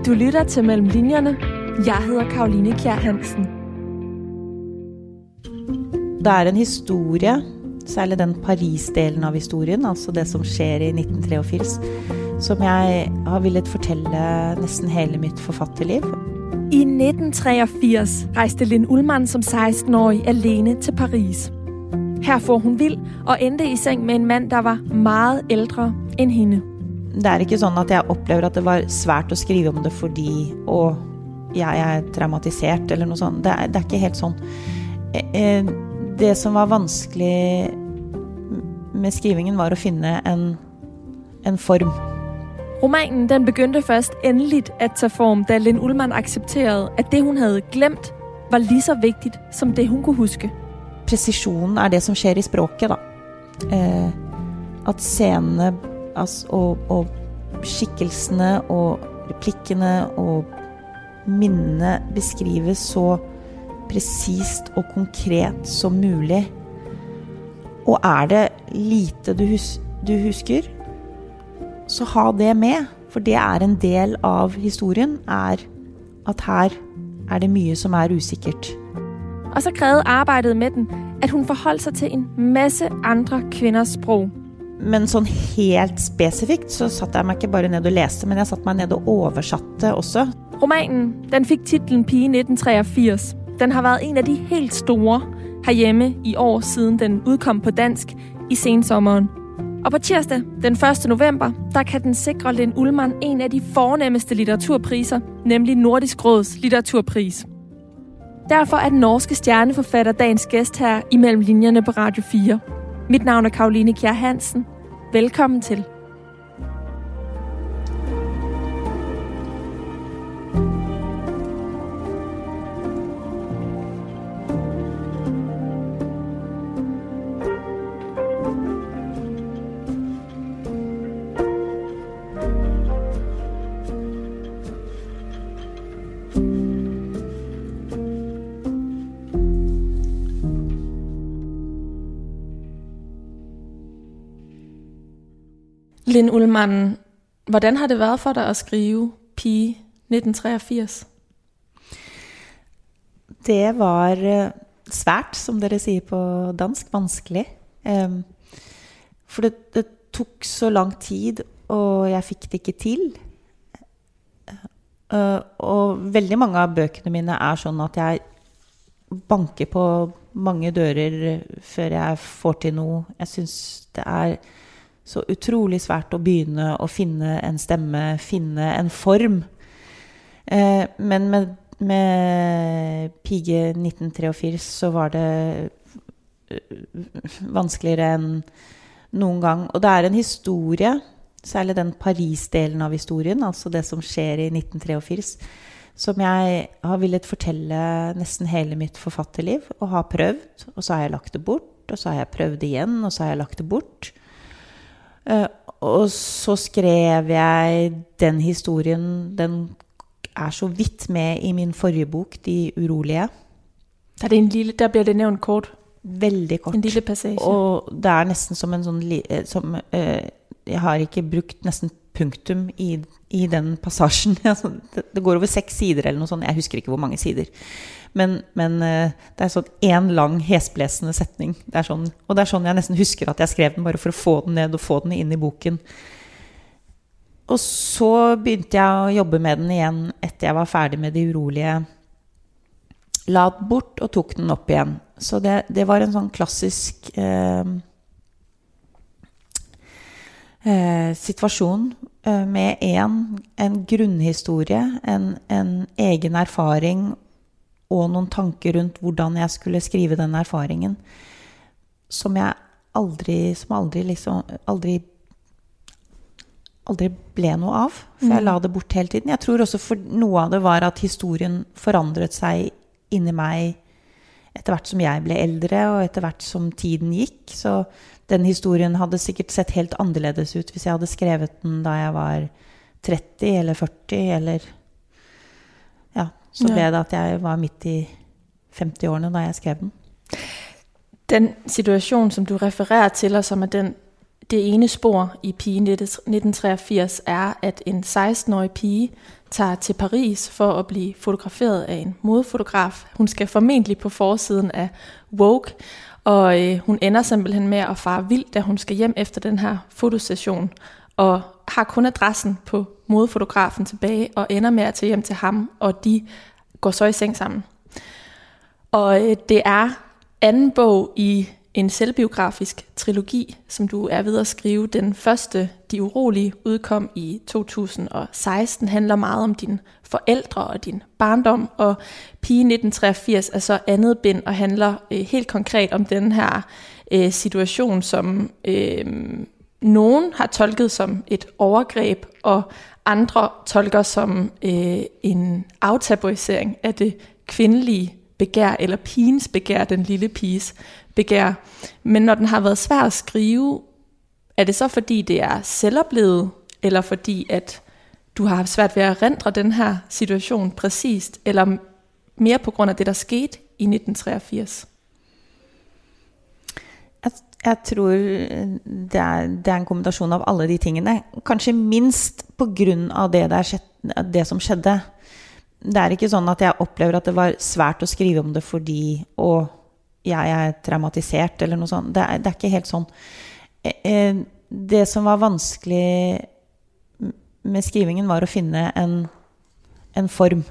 Du lytter til Mellem Linjerne. Jeg hedder Caroline Kjær Hansen. Det er en historie, særlig den Paris-delen av historien, altså det som skjer i 1983, som jeg har villet fortelle nesten hele mitt forfatterliv. I 1983 rejste Linn Ullmann som 16-årig alene til Paris. Her får hun vild og endte i seng med en mand, der var meget ældre end hende. Det er ikke sånn at jeg opplever at det var svært å skrive om det fordi jeg er traumatisert eller noe sånt. Det er ikke helt sånn. Det som var vanskelig med skrivingen var å finne en form. Romanen den begyndte først endeligt at tage form, da Linn Ullmann accepterede, at det hun havde glemt, var lige så vigtigt som det hun kunne huske. Presisjonen er det som skjer i språket, da. At scenene og skikkelsene og replikkene og minnene beskrives så presist og konkret som mulig. Og er det lite du husker, så ha det med, for det er en del av historien, er at her er det mye som er usikkert. Og så krævede arbejdet med den, at hun forholdt sig til en masse andre kvinders sprog. Men sånn helt spesifikt så satte jeg meg ikke bare ned og leste, men jeg satte meg ned og oversatte også. Romanen, den fik titlen Pige 1983. Den har været en af de helt store herhjemme i år, siden den udkom på dansk i sensommeren. Og på tirsdag, den 1. november, der kan den sikre Linn Ullmann en af de fornemmeste litteraturpriser, nemlig Nordisk Råds litteraturpris. Derfor er den norske stjerneforfatter dagens gæst her i Mellem Linjerne på Radio 4. Mit navn er Caroline Kjær Hansen. Velkommen til. Linn Ullmann, hvordan har det været for dig at skrive Pige 1983? Det var svært, som dere sier på dansk, vanskelig. For det tok så lang tid, og jeg fikk det ikke til. Og veldig mange av bøkene mine er sånn at jeg banker på mange dører før jeg får til noe. Jeg synes det er så utrolig svært å begynne å finne en stemme, finne en form. Men med Pige 1983 så var det vanskeligere enn noen gang. Og det er en historie, særlig den Paris-delen av historien, altså det som skjer i 1983, som jeg har villet fortelle nesten hele mitt forfatterliv, og har prøvd, og så har jeg lagt det bort, og så har jeg prøvd igjen, og så har jeg lagt det bort. Og så skrev jeg den historien, den er så vidt med i min forrige bok, De urolige. Der bliver det nævnt kort. Veldig kort. En lille passage. Og det er nesten som en sånn jeg har ikke brukt nesten punktum i den passasjen. Det går over 6 sider eller noe sånt. Jeg husker ikke hvor mange sider. Men det er sånn en lang hesblesende setning. Det er sånn, og det er sånn jeg nesten husker at jeg skrev den, bare for å få den ned og få den inn i boken. Og så begynte jeg å jobbe med den igjen etter jeg var ferdig med De urolige. La den bort og tok den opp igjen. Så det var en sånn klassisk situasjon med en grunnhistorie, en egen erfaring og noen tanker rundt hvordan jeg skulle skrive den erfaringen, som jeg aldri ble noe av, for jeg la det bort hele tiden. Jeg tror også for noe av det var at historien forandret seg inni meg etter hvert som jeg ble eldre, og etter hvert som tiden gikk. Så den historien hadde sikkert sett helt annerledes ut hvis jeg hadde skrevet den da jeg var 30 eller 40, eller ja, så ble det at jeg var midt i 50-årene da jeg skrev den. Den situation, som du refererer til, og som er den Det ene spor i Pige 1983 er, at en 16-årig pige tager til Paris for at blive fotograferet af en modefotograf. Hun skal formentlig på forsiden af Vogue, og hun ender simpelthen med at fare vild, da hun skal hjem efter den her fotosession, og har kun adressen på modefotografen tilbage, og ender med at tage hjem til ham, og de går så i seng sammen. Og det er anden bog i en selvbiografisk trilogi, som du er ved at skrive. Den første, De Urolige, udkom i 2016, handler meget om dine forældre og din barndom, og Pige 1983 er så andet bind og handler helt konkret om den her situation, som nogen har tolket som et overgreb, og andre tolker som en aftabuisering af det kvindelige begær, eller pigens begær, den lille piges begær. Men når den har været svær at skrive, er det så fordi det er selvoplevet, eller fordi at du har haft svært ved at erindre den her situation præcist, eller mere på grund af det, der skete i 1983? Jeg tror det er en kombinasjon av alle de tingene. Kanskje minst på grunn av det som skjedde. Det er ikke sånn at jeg opplever at det var svært å skrive om det fordi jeg er traumatisert eller noe sånt. Det er ikke helt sånn. Det som var vanskelig med skrivingen var å finne en form.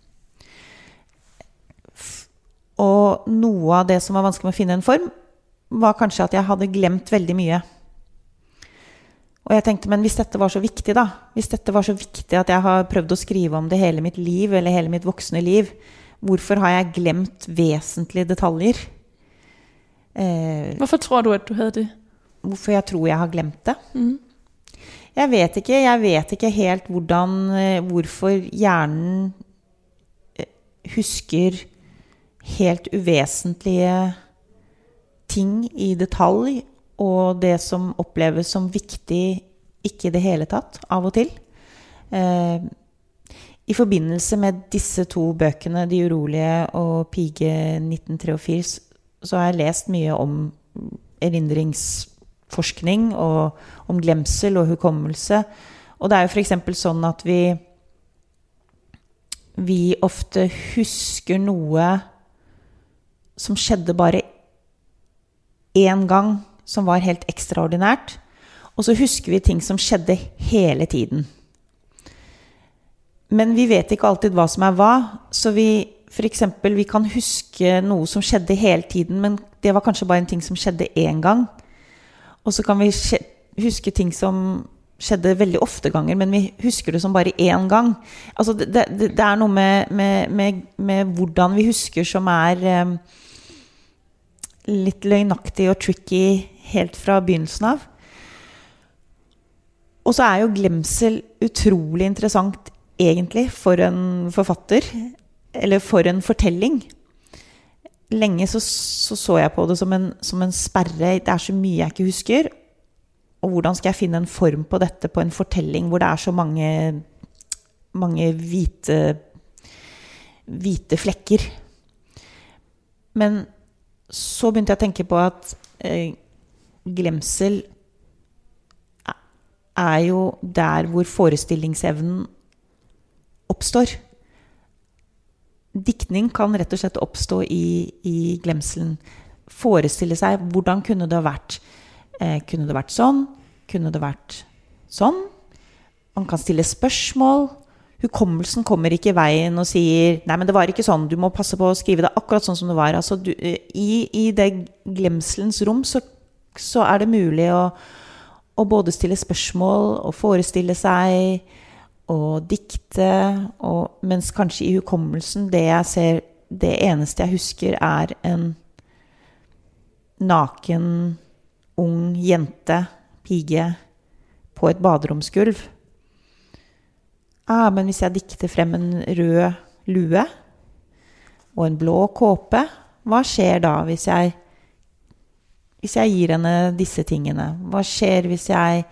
Og noe av det som var vanskelig med å finne en form, var kanskje at jeg hadde glemt veldig mye. Og jeg tenkte, men hvis dette var så viktig da, hvis dette var så viktig at jeg har prøvd å skrive om det hele mitt liv, eller hele mitt voksne liv, hvorfor har jeg glemt vesentlige detaljer? Hvorfor tror du, at du havde det? Hvorfor jeg tror jeg har glemt det? Jeg vet ikke helt hvorfor hjernen husker helt uvesentlige ting i detalj, og det som oppleves som viktig ikke i det hele tatt, av og til. I forbindelse med disse to bøkene, De Urolige og Pige 1983, så har jeg lest mye om erindringsforskning, og om glemsel og hukommelse. Og det er jo for eksempel sånn at vi ofte husker noe som skjedde bare en gang, som var helt ekstraordinært, og så husker vi ting som skjedde hele tiden. Men vi vet ikke alltid hva som er hva, så for eksempel, vi kan huske noe som skjedde hele tiden, men det var kanskje bare en ting som skjedde en gang. Og så kan vi huske ting som skjedde veldig ofte ganger, men vi husker det som bare en gang. Altså, det er noe med hvordan vi husker som er litt løgnaktig og tricky helt fra begynnelsen av. Og så er jo glemsel utrolig interessant egentlig for en forfatter, eller for en fortelling. Lenge så jeg på det som en sperre. Det er så mye jeg ikke husker, og hvordan skal jeg finne en form på dette på en fortelling hvor det er så mange hvite flekker. Men så begynte jeg å tenke på at glemsel er jo der hvor forestillingsevnen oppstår. Diktning kan rett og slett oppstå i glemselen. Forestille seg, hvordan kunne det ha vært? Kunne det vært sånn? Kunne det vært sånn? Man kan stille spørsmål. Hukommelsen kommer ikke i veien og sier, nei, men det var ikke sånn, du må passe på å skrive det akkurat sånn som det var. Altså, i det glemselens rom så er det mulig å både stille spørsmål og forestille seg og dikte, mens kanskje i hukommelsen det jeg ser, det eneste jeg husker er en naken, ung jente, pige på et baderomsgulv. Men hvis jeg dikter frem en rød lue og en blå kåpe, hva skjer da hvis jeg gir henne disse tingene? Hva skjer hvis jeg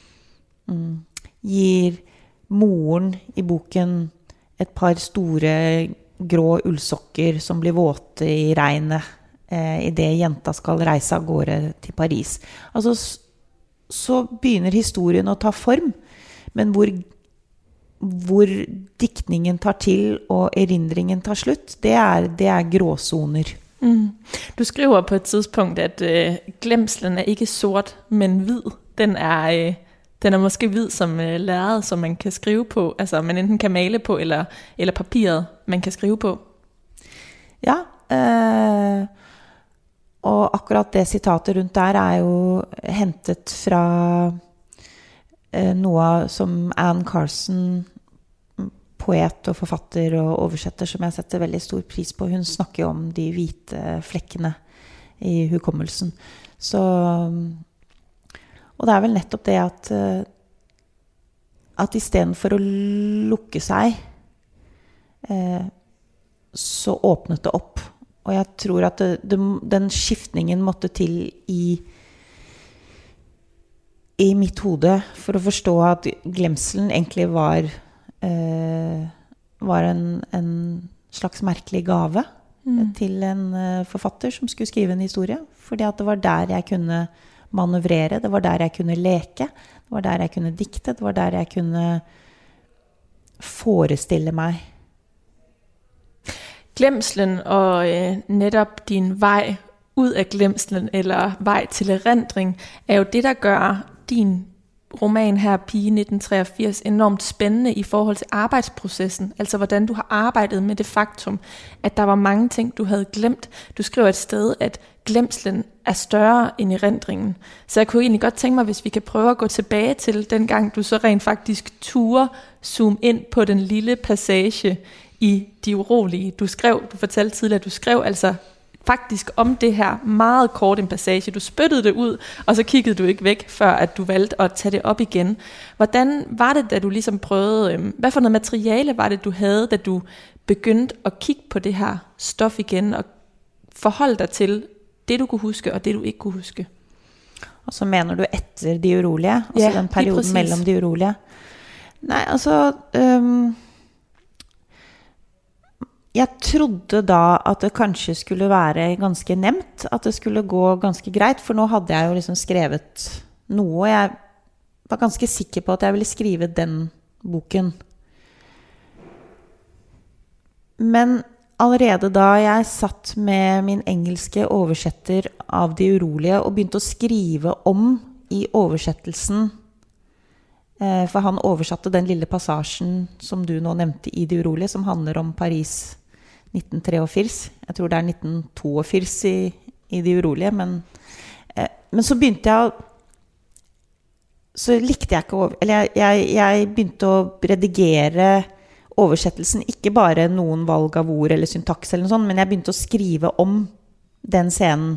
gir moren i boken et par store grå ullsokker som blir våte i regnet i det jenta skal reise av gårde til Paris? Altså, så begynner historien å ta form, men hvor diktningen tar til og erindringen tar slutt, det er gråzoner. Du skriver på et tidspunkt, at glemselen er ikke sort, men hvid. Den er måske hvid som lærred, som man kan skrive på, altså man enten kan male på, eller papiret, man kan skrive på. Ja, og akkurat det citatet rundt der er jo hentet fra noe som Anne Carson, poet og forfatter og oversetter, som jeg setter veldig stor pris på. Hun snakker om de hvite flekkene i hukommelsen. Så, og det er vel nettopp det at i stedet for å lukke seg, så åpnet det opp. Og jeg tror at den skiftningen måtte til i mitt hode for å forstå at glemselen egentlig var en slags merkelig gave til en forfatter som skulle skrive en historie. Fordi at det var der jeg kunne manøvrere, det var der jeg kunne leke, det var der jeg kunne dikte, det var der jeg kunne forestille meg. Glemselen og netop din vej ud af glemselen eller vej til erindring er jo det, der gør din roman her, Pige 1983, enormt spændende i forhold til arbejdsprocessen. Altså hvordan du har arbejdet med det faktum, at der var mange ting, du havde glemt. Du skriver et sted, at glemselen er større end erindringen. Så jeg kunne egentlig godt tænke mig, hvis vi kan prøve at gå tilbage til den gang, du så rent faktisk turde zoome ind på den lille passage i De Urolige. Du fortalte tidligere, at du skrev altså faktisk om det her meget kort en passage. Du spyttede det ud, og så kiggede du ikke væk, før at du valgte at tage det op igen. Hvordan var det, da du ligesom prøvede, hvad for noget materiale var det, du havde, da du begyndte at kigge på det her stof igen, og forholde dig til det, du kunne huske, og det, du ikke kunne huske? Og så mener du etter De Urolige? Altså den perioden mellem De Urolige? Nej, altså... Jeg trodde da at det kanskje skulle være ganske nemt, at det skulle gå ganske greit, for nå hadde jeg jo liksom skrevet noe, og jeg var ganske sikker på at jeg ville skrive den boken. Men allerede da jeg satt med min engelske oversetter av De Urolige og begynte å skrive om i oversettelsen, for han oversatte den lille passasjen som du nå nevnte i De Urolige, som handler om Paris 1983. Jeg tror det er 1982 i De Urolige, men så begynte jeg så likte jeg ikke eller jeg begynte å redigere oversettelsen, ikke bare noen valg av ord eller syntaks eller noe sånt, men jeg begynte å skrive om den scenen.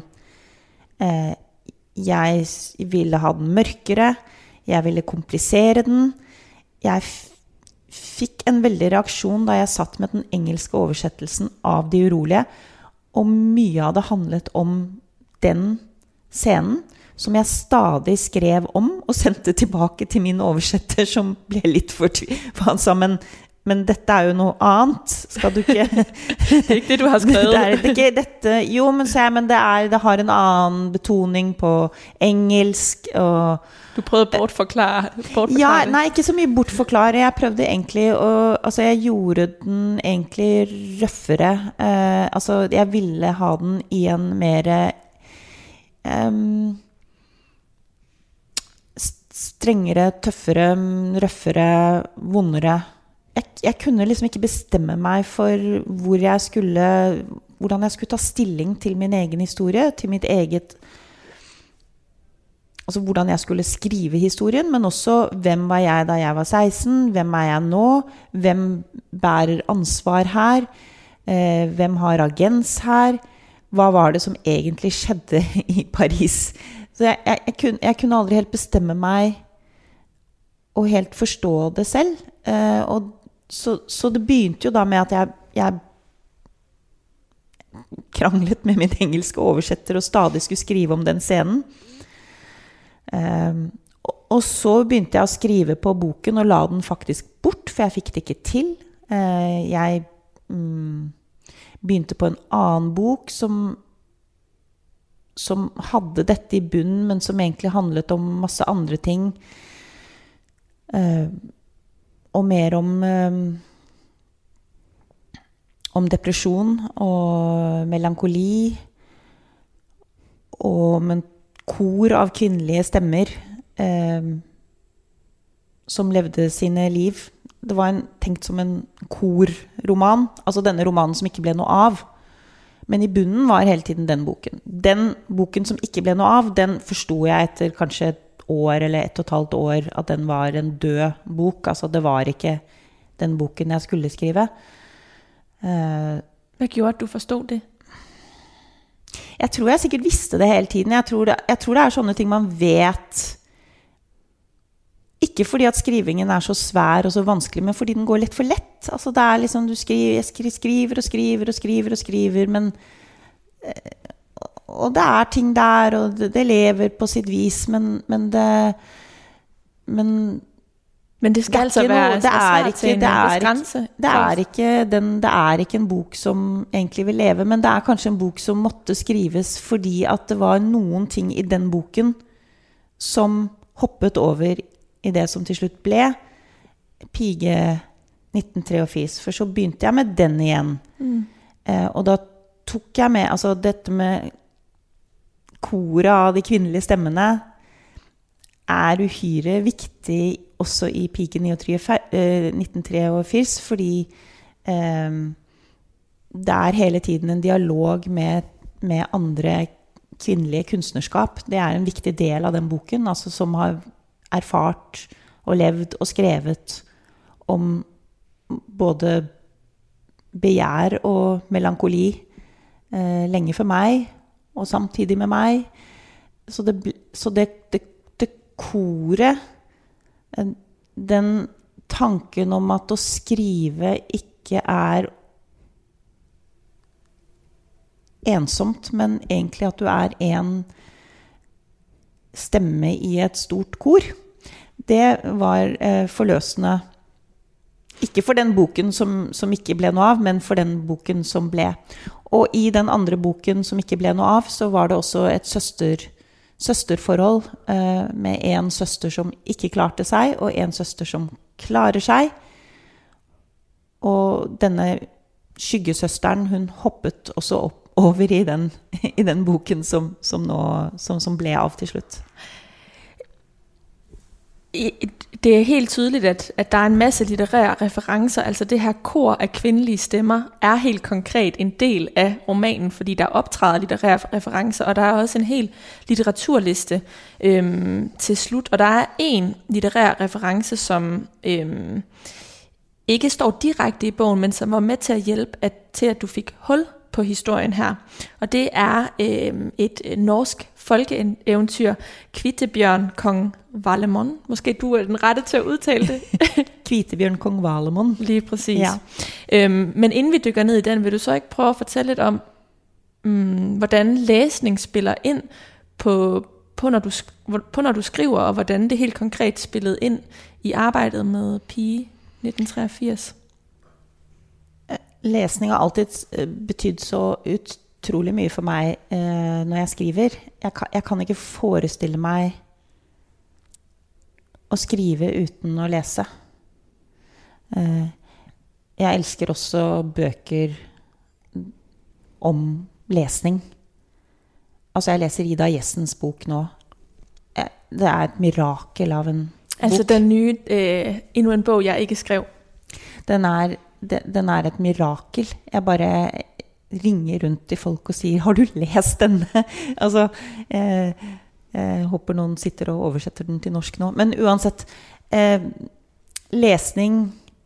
Jeg ville ha den mørkere, jeg ville komplisere den. Jeg fikk en veldig reaksjon da jeg satt med den engelske oversettelsen av De Urolige, og mye av det handlet om den scenen, som jeg stadig skrev om og sendte tilbake til min oversetter, som ble litt for han sa, men dette er jo noe annet, skal du ikke... Det er ikke det, du har skrevet. Det er ikke dette, jo, men det har en annen betoning på engelsk, og... Du prøvde bortforklare Ja, nei, ikke så mye bortforklare. Jeg prøvde egentlig altså jeg gjorde den egentlig røffere. Altså jeg ville ha den i en mer strengere, tøffere, røffere, vondere. Jeg kunne liksom ikke bestemme meg for hvordan jeg skulle ta stilling til min egen historie, til mitt eget, altså hvordan jeg skulle skrive historien, men også hvem var jeg da jeg var 16, hvem er jeg nå, hvem bærer ansvar her, hvem har agens her, hva var det som egentlig skjedde i Paris. Så jeg kunne aldri helt bestemme meg og helt forstå det selv, og så det begynte jo da med at jeg kranglet med min engelske oversetter og stadig skulle skrive om den scenen. Og så begynte jeg å skrive på boken og la den faktisk bort, for jeg fikk det ikke til. Jeg begynte på en annen bok som som hadde dette i bunnen, men som egentlig handlet om masse andre ting. Og mer om depresjon og melankoli, og om en kor av kvinnelige stemmer som levde sine liv. Det var tenkt som en korroman, altså denne romanen som ikke ble noe av. Men i bunnen var hele tiden den boken. Den boken som ikke ble noe av, den forstod jeg etter kanskje et år eller 1,5 år, at den var en død bok. Altså det var ikke den boken jeg skulle skrive. Hvad gjorde at du forstod det? Jeg tror jeg sikkert visste det hele tiden. Jeg tror det sånne ting man vet. Ikke fordi at skrivingen så svær og så vanskelig, men fordi den går litt for lett. Altså det liksom, du skriver og skriver og skriver og skriver, men og det ting der, og det lever på sitt vis, men det skal altså være det ikke en bok som egentlig vil leve, men det kanskje en bok som måtte skrives fordi at det var noen ting i den boken som hoppet over i det som til slutt ble Pige 1983, for så begynte jeg med den igjen. Og da tok jeg med, altså dette med koret av de kvinnelige stemmene uhyre viktig også i Pige 1983, fordi det hele tiden en dialog med andre kvinnelige kunstnerskap. Det en viktig del av den boken, altså som har erfart og levd og skrevet om både begjær og melankoli lenge for meg og samtidig med meg. Så det koret, den tanken om at å skrive ikke ensomt, men egentlig at du en stemme i et stort kor. Det var forløsende. Ikke for den boken som ikke ble noe av, men for den boken som ble. Og i den andre boken som ikke ble noe av, så var det også et søsterforhold med en søster som ikke klarte seg, og en søster som klarer seg. Og denne skyggesøsteren, hun hoppet også opp over i den boken som ble av til slutt. Det helt tydeligt, at der en masse litterære referencer, altså det her kor af kvindelige stemmer, helt konkret en del af romanen, fordi der optræder litterære referencer, og der også en hel litteraturliste til slut, og der en litterær reference, som ikke står direkte i bogen, men som var med til at hjælpe til, at du fik hul på historien her. Og det et norsk folkeeventyr, Kvitebjørn Kong Valemon. Måske du den rette til at udtale det. Kvitebjørn Kong Valemon. Lige præcis. Ja. Men inden vi dykker ned i den, vil du så ikke prøve at fortælle lidt om, hvordan læsning spiller ind på når du skriver, og hvordan det helt konkret spillede ind i arbejdet med Pige 1983? Lesning har alltid betydd så utrolig mye for meg når jeg skriver. Jeg kan ikke forestille meg å skrive uten å lese. Jeg elsker også bøker om lesning. Altså jeg leser Ida Jessens bok nå. Det et mirakel av en bok. Altså den nye, endnu en bog jeg ikke skrev. Den et mirakel. Jeg bare ringer rundt til folk og sier, har du lest denne? Altså, jeg håper noen sitter og oversetter den til norsk nå. Men uansett, lesning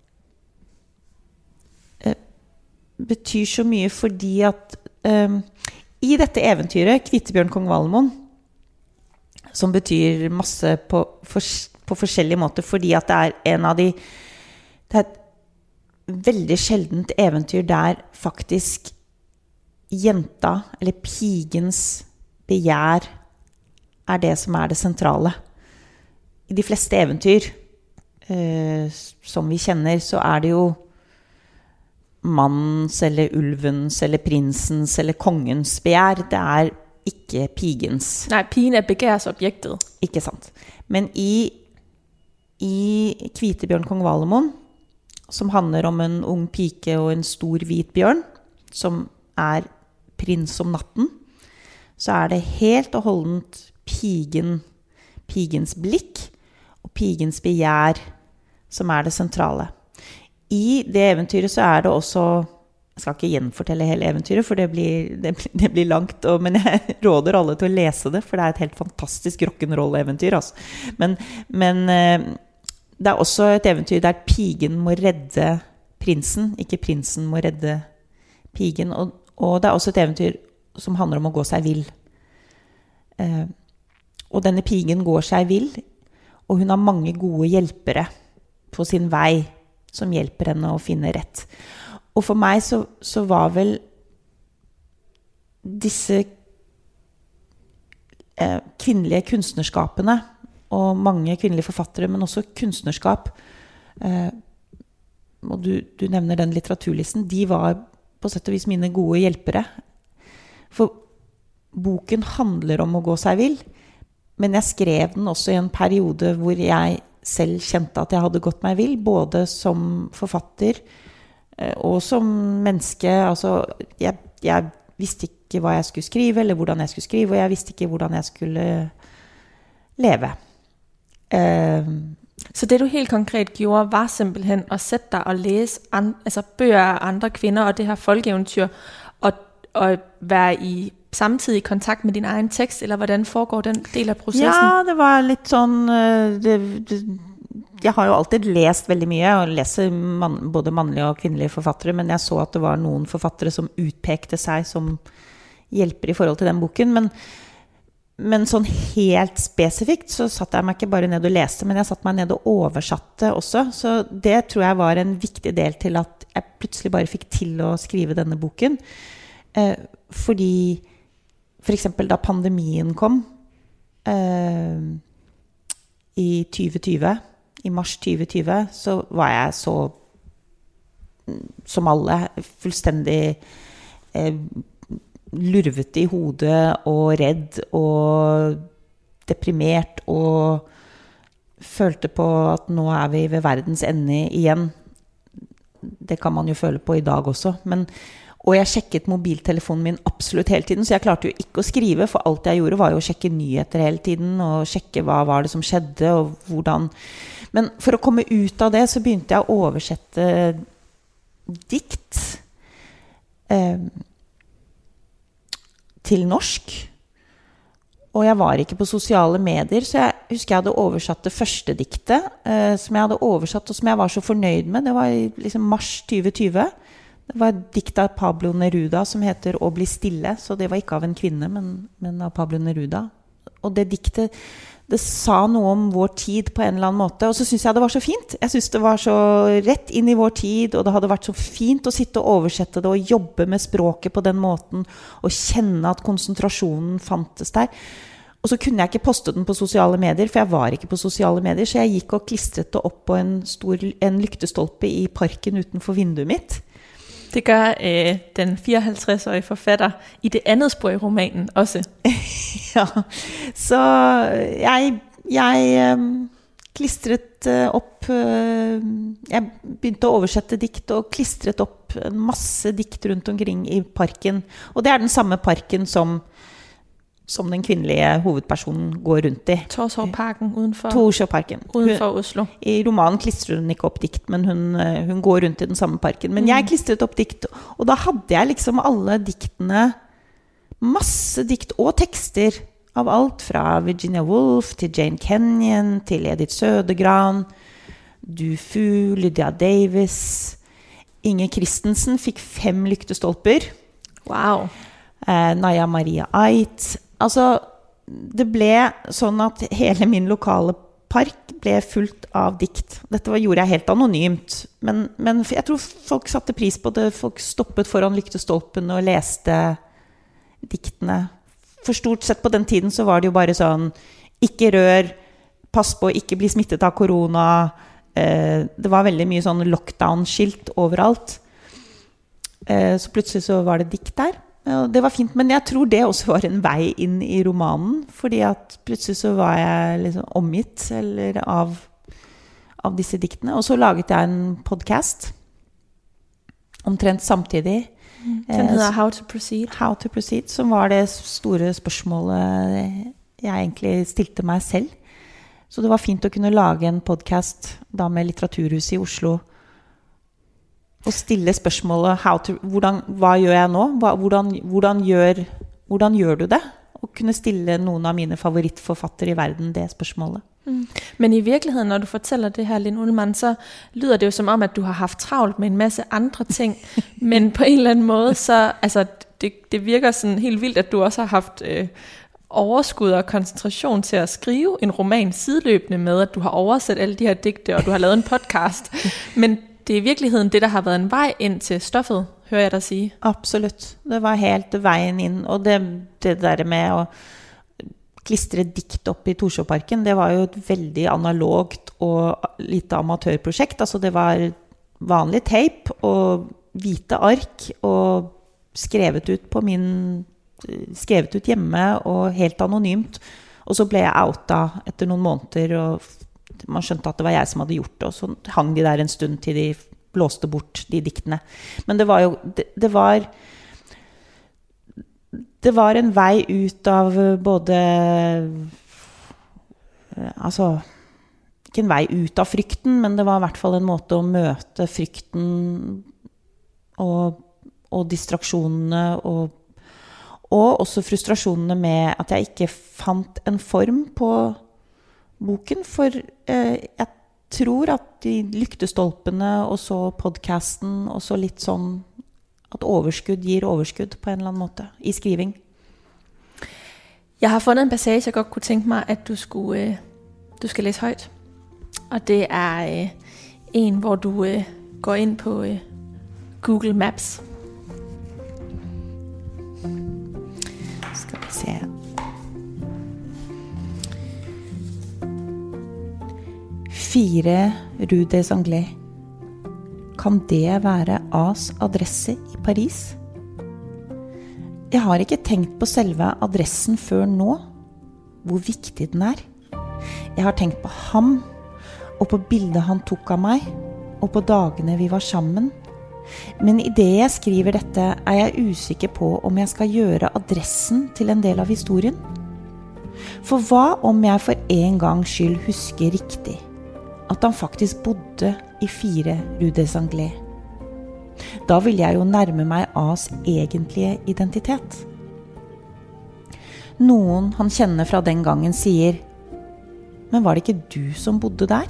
betyr så mye fordi at i dette eventyret, Kvitebjørn Kong Valemon, som betyr masse på forskjellige måter, fordi at det en av de... Det et veldig sjeldent eventyr der faktisk jenta, eller pigens begjær det som det sentrale. I de fleste eventyr som vi kjenner, så det jo mannens, eller ulvens, eller prinsens, eller kongens begjær. Det ikke pigens. Nej, pigen begærsobjektet. Ikke sant. Men i Kvitebjørn Kong Valemon, som handler om en ung pike og en stor hvit bjørn, som prins om natten, så det helt og holdent pigens blikk og pigens begjær som det sentrale. I det eventyret så det også, jeg skal ikke gjenfortelle hele eventyret, for det blir langt, men jeg råder alle til å lese det, for det et helt fantastisk rock'n'roll-eventyr. Altså. Men det også et eventyr der pigen må redde prinsen, ikke prinsen må redde pigen, og det også et eventyr som handler om å gå seg vill. Og denne pigen går seg vill, og hun har mange gode hjelpere på sin vei, som hjelper henne å finne rett. Og for meg så var vel disse kvinnelige kunstnerskapene, og mange kvinnelige forfattere, men også kunstnerskap, og du nevner den litteraturlisten, de var på sett og vis mine gode hjelpere. For boken handler om å gå seg vill, men jeg skrev den også i en periode hvor jeg selv kjente at jeg hadde gått meg vill, både som forfatter og som menneske. Altså, jeg visste ikke hva jeg skulle skrive, eller hvordan jeg skulle skrive, og jeg visste ikke hvordan jeg skulle leve. Så det du helt konkret gjorde, var simpelthen at sætte dig og læse bøger af andre kvinder, og det her folkeeventyr, og være i samtidig kontakt med din egen tekst, eller hvordan foregår den del af processen? Ja, det var litt sånn, jeg har jo alltid lest veldig mye, og leser både mannlige og kvinnelige forfattere, men jeg så at det var noen forfattere som utpekte seg som hjelper i forhold til den boken, men sånn helt spesifikt så satt jeg meg ikke bare ned og leste, men jeg satt meg ned og oversatte også, så det tror jeg var en viktig del til at jeg plutselig bare fikk til å skrive denne boken, fordi for eksempel da pandemien kom i 2020, i mars 2020, så var jeg så, som alle, fullstendig lurvete i hodet og redd og deprimert og følte på at nå vi ved verdens ende igjen. Det kan man jo føle på i dag også, og jeg sjekket mobiltelefonen min absolutt hele tiden, så jeg klarte jo ikke å skrive, for alt jeg gjorde var jo å sjekke nyheter hele tiden, og sjekke hva var det som skjedde, og hvordan. Men for å komme ut av det, så begynte jeg å oversette dikt til norsk, og jeg var ikke på sosiale medier, så jeg husker jeg hadde oversatt det første diktet, som jeg hadde oversatt, og som jeg var så fornøyd med. Det var i liksom mars 2020. Det var et dikt av Pablo Neruda som heter «Å bli stille», så det var ikke av en kvinne, men av Pablo Neruda. Og det diktet, det sa noe om vår tid på en eller annen måte, og så synes jeg det var så fint. Jeg synes det var så rett inn i vår tid, og det hadde vært så fint å sitte og oversette det, og jobbe med språket på den måten, og kjenne at konsentrasjonen fantes der. Og så kunne jeg ikke poste den på sosiale medier, for jeg var ikke på sosiale medier, så jeg gikk og klistret det opp på en lyktestolpe i parken utenfor vinduet mitt. Det gør den 54-årige forfatter i det andet spor i romanen også. Ja, så jeg klistret opp, jeg begynte å oversette dikt og klistret opp en masse dikt rundt omkring i parken. Og det den samme parken som den kvinnelige hovedpersonen går rundt i. Torshovparken udenfor Oslo. I romanen klistrer hun ikke opp dikt, men hun går rundt i den samme parken. Men jeg klistret opp dikt, og da hadde jeg liksom alle diktene, masse dikt og tekster, av alt fra Virginia Woolf til Jane Kenyon, til Edith Sødegran, Dufu, Lydia Davis. Inger Christensen fikk 5 lyktestolper. Wow. Naya Maria Ait. Altså, det ble sånn at hele min lokale park ble fullt av dikt. Dette gjorde jeg helt anonymt, men jeg tror folk satte pris på det. Folk stoppet foran lyktestolpen og leste diktene. For stort sett på den tiden så var det jo bare sånn, ikke rør, pass på å ikke bli smittet av korona. Det var veldig mye sånn lockdown-skilt overalt. Så plutselig så var det dikt der. Ja, det var fint, men jeg tror det også var en vei inn i romanen, fordi at plutselig så var jeg liksom omgitt av disse diktene. Og så laget jeg en podcast omtrent samtidig. Den hedder How to Proceed. How to Proceed, som var det store spørsmålet jeg egentlig stilte meg selv. Så det var fint å kunne lage en podcast da med Litteraturhuset i Oslo, og stille spørsmålet hva gjør jeg nå? Hvordan gjør du det? Og kunne stille noen av mine favorittforfattere i verden det spørsmålet. Men i virkeligheden, når du fortæller det her, Linn Ullmann, så lyder det jo som om, at du har haft travlt med en masse andre ting, men på en eller anden måde, så altså, det virker sådan helt vildt, at du også har haft overskud og koncentration til at skrive en roman sideløbende med, at du har oversat alle de her digte, og du har lavet en podcast. Men det er i virkeligheden det, der har været en vej ind til stoffet, hører jeg dig sige. Absolut. Det var helt vejen ind, og det der med at klistre dikt op i Torshovparken, det var jo et veldig analogt og lite amatørprojekt. Altså det var vanlig tape og hvite ark og skrevet ut hjemme og helt anonymt. Og så ble jeg outa etter noen måneder, og man skjønte at det var jeg som hadde gjort det, og så hang de der en stund til de blåste bort de diktene. Men det var jo, det var en vei ut av både, altså, ikke en vei ut av frykten, men det var i hvert fall en måte å møte frykten og distraksjonene og også frustrasjonene med at jeg ikke fant en form på boken, for jeg tror at de lyktestolpene og så podcasten og så litt sånn at overskudd gir overskudd på en eller annen måte i skriving. Jeg har fundet en passage, jeg godt kunne tænke mig, at du skal læse højt. Og det er en, hvor du går ind på Google Maps. Skal vi se. Fire Rue des Anglais. Kan det være A's adresse i Paris? Jeg har ikke tenkt på selve adressen før nå, hvor viktig den er. Jeg har tenkt på ham, og på bildet han tok av meg, og på dagene vi var sammen. Men i det jeg skriver dette, er jeg usikker på om jeg skal gjøre adressen til en del av historien. For hva om jeg for en gangs skyld husker riktig at han faktisk bodde i 4 Rue des Anglais? Da vil jeg jo nærme meg A's egentlige identitet. Noen han kjenner fra den gangen sier, men var det ikke du som bodde der?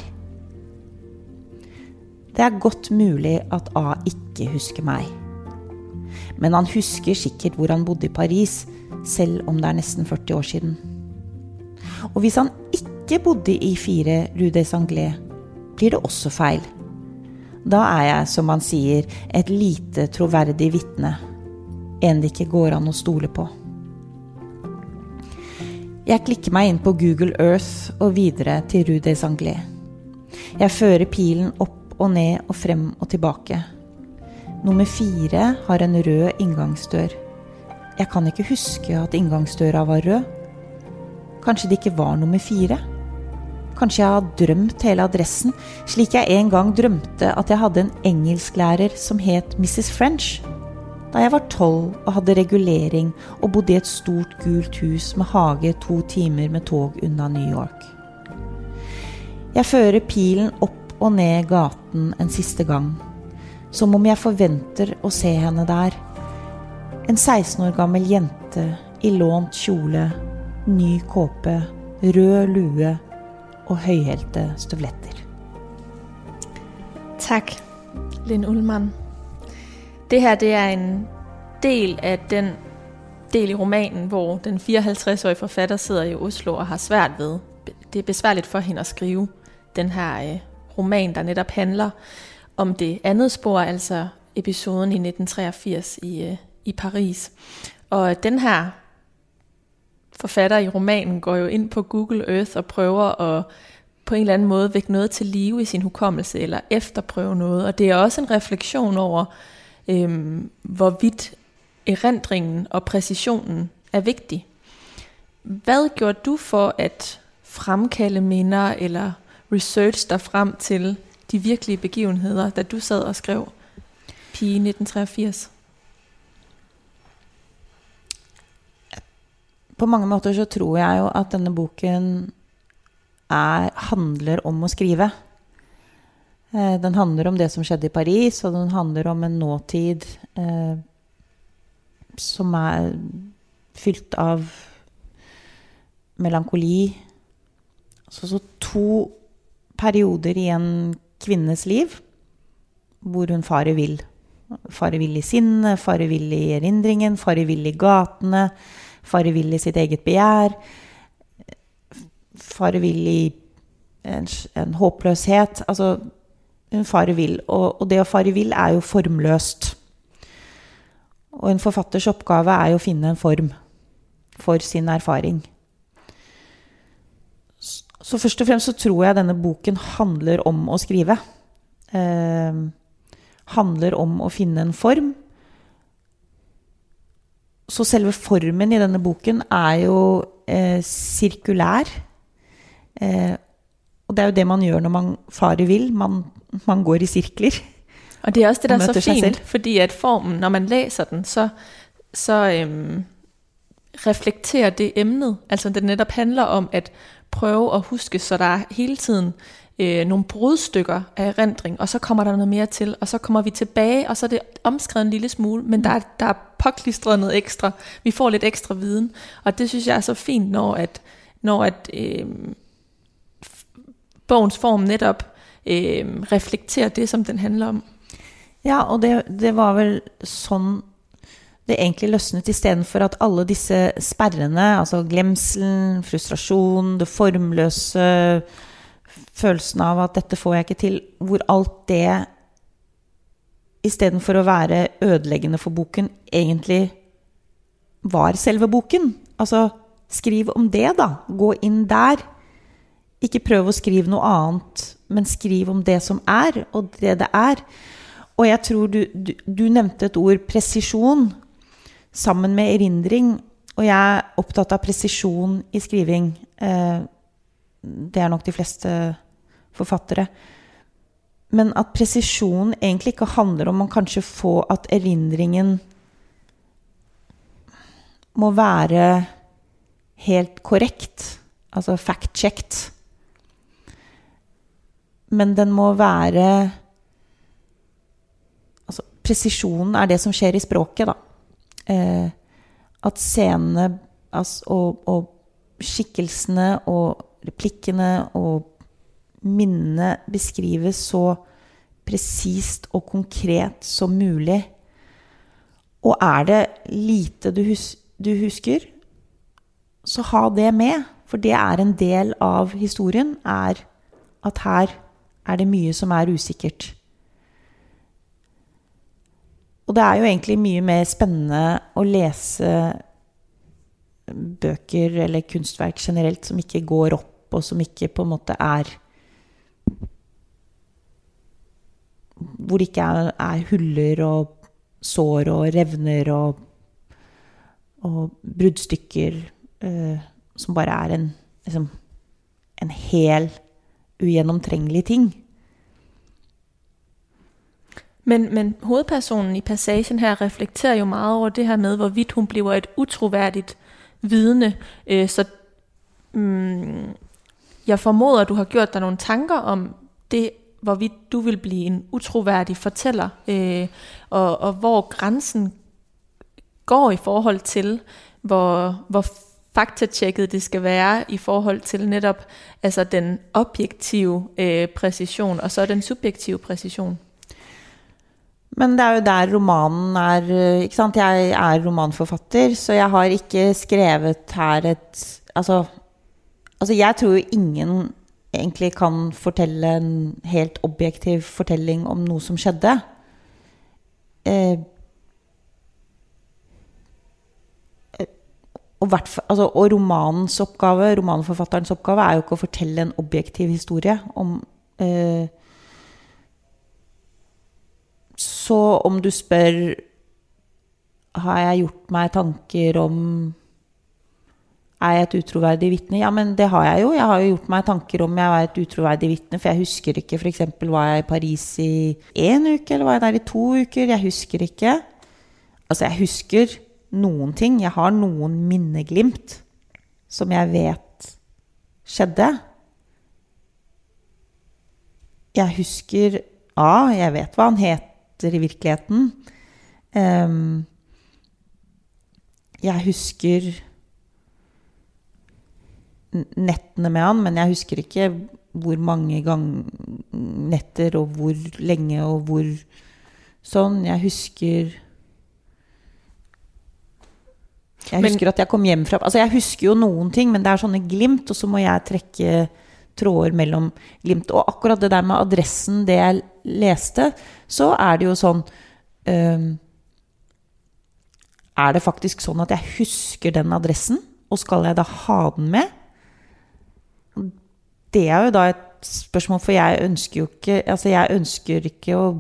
Det er godt mulig at A ikke husker meg. Men han husker sikkert hvor han bodde i Paris, selv om det er nesten 40 år siden. Og hvis han ikke bodde i 4 Rue des Anglais, blir det også feil. Da er jeg, som man sier, et lite troverdig vitne. En det ikke går an å stole på. Jeg klikker meg inn på Google Earth og videre til Rue des Anglais. Jeg fører pilen opp og ned og frem og tilbake. Nummer 4 har en rød inngangsdør. Jeg kan ikke huske at inngangsdøra var rød. Kanskje det ikke var nummer 4? Kanskje jeg har drømt hele adressen, slik jeg en gang drømte at jeg hadde en engelsklærer som het Mrs. French. Da jeg var 12 og hadde regulering og bodde i et stort gult hus med hage 2 timer med tog unna New York. Jeg fører pilen opp og ned gaten en siste gang, som om jeg forventer å se henne der. En 16 år gammel jente i lånt kjole, ny kåpe, rød lue og høyhælte støvletter. Tak, Linn Ullmann. Det her, det er en del af den del i romanen, hvor den 54-årige forfatter sidder i Oslo og har svært ved. Det er besværligt for hende at skrive den her roman, der netop handler om det andet spor, altså episoden i 1983 i Paris. Og den her forfatter i romanen går jo ind på Google Earth og prøver at på en eller anden måde vække noget til live i sin hukommelse, eller efterprøve noget. Og det er også en refleksion over, hvorvidt erindringen og præcisionen er vigtig. Hvad gjorde du for at fremkalde minder eller research dig frem til de virkelige begivenheder, da du sad og skrev Pige 1983? På mange måter så tror jeg jo at denne boken handler om å skrive. Den handler om det som skjedde i Paris, og den handler om en nåtid som fylt av melankoli. Så 2 perioder i en kvinnes liv, hvor hun farer vill. Farer vill i sinne, farer vill i erindringen, farer vill i gatene, farer vill i sitt eget begjær, farer vill i en håpløshet. Altså, hun farer vill, og det å fare vill jo formløst. Og en forfatters oppgave jo å finne en form for sin erfaring. Så først og fremst så tror jeg denne boken handler om å skrive. Handler om å finne en form. Så selve formen i denne boken jo sirkulær. Og det jo det man gjør når man farer vill. Man går i sirkler. Og det også det, der så fint, fordi at formen, når man læser den, så reflekterer det emnet. Altså det netop handler om at prøve at huske, så der hele tiden nogle brudstykker af erindring, og så kommer der noget mere til, og så kommer vi tilbage, og så det omskrevet en lille smule, men der påklistret noget ekstra. Vi får lidt ekstra viden, og det synes jeg så fint, når bogens form netop reflekterer det, som den handler om. Ja, og det var vel sånn det egentlig løsnet, i stedet for at alle disse sperrene, altså glemselen, frustrasjon, det formløse, følelsen av at dette får jeg ikke til, hvor alt det, i stedet for å være ødeleggende for boken, egentlig var selve boken. Altså, skriv om det da, gå inn der. Ikke prøv å skrive noe annet, men skriv om det som og det Og jeg tror du nevnte et ord, presisjon, sammen med erindring, og jeg opptatt av presisjon i skriving. Det nok de fleste forfattere. Men at presisjon egentlig ikke handler om å kanskje få at erindringen må være helt korrekt, altså fact-checked. Men den må være, altså presisjonen det som skjer i språket da. At scenene og skikkelsene og replikkene og minnene beskrives så presist og konkret som mulig. Og det lite du husker, så ha det med, for det en del av historien, at her det mye som usikkert. Og det jo egentlig mye mer spennende å lese bøker eller kunstverk generelt som ikke går opp, og som ikke på en måte hvor det ikke huller og sår og revner og bruddstykker, som bare en hel ugjennomtrengelig ting. Men hovedpersonen i passagen her reflekterer jo meget over det her med, hvorvidt hun bliver et utroværdigt vidne. Så jeg formoder, at du har gjort dig nogle tanker om det, hvorvidt du vil blive en utroværdig fortæller, og hvor grænsen går i forhold til, hvor faktatjekket det skal være i forhold til netop altså den objektive præcision, og så den subjektive præcision. Men det jo der romanen ikke sant? Jeg romanforfatter, så jeg har ikke skrevet her altså jeg tror jo ingen egentlig kan fortelle en helt objektiv fortelling om noe som skjedde. Og romanens oppgave, romanforfatterens oppgave jo ikke å fortelle en objektiv historie om så om du spør har jeg gjort meg tanker om jeg et utroverdig vitne? Ja, men det har jeg jo. Jeg har jo gjort meg tanker om jeg var et utroverdig vitne, for jeg husker ikke, for eksempel, var jeg i Paris i 1 uke, eller var jeg der i 2 uker? Jeg husker ikke. Altså, jeg husker noen ting. Jeg har noen minneglimt som jeg vet skjedde. Jeg husker, jeg vet hva han heter i virkeligheten. Jeg husker nettene med han, men jeg husker ikke hvor mange netter og hvor lenge og hvor sånn. Jeg husker at jeg kom hjem fra, altså jeg husker jo noen ting, men det er sånne glimt, og så må jeg trekke tråder mellom glimt, og akkurat det der med adressen, det jeg leste, så er det jo sånn, er det faktisk sånn at jeg husker den adressen, og skal jeg da ha den med? Det er jo da et spørsmål, for jeg ønsker jo ikke, altså jeg ønsker ikke å,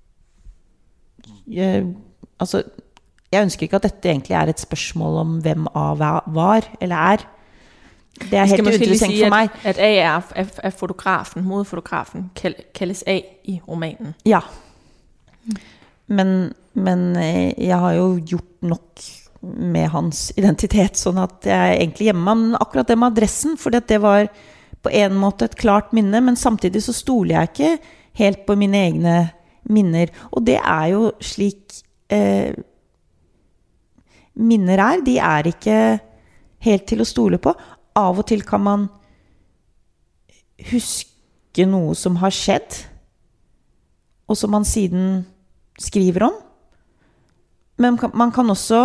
jeg ønsker ikke at dette egentlig er et spørsmål om hvem av var eller er. Det er helt uinteressant for meg. At A er fotografen, modefotografen, kaldes A i romanen. Ja. Men jeg har jo gjort nok med hans identitet, sånn at jeg egentlig gjemmer meg akkurat det med adressen, for det var på en måte et klart minne, men samtidig så stoler jeg ikke helt på mine egne minner. Og det er jo slik minner de er ikke helt til å stole på. Av og til kan man huske noe som har skjedd, og som man siden skriver om. Men man kan også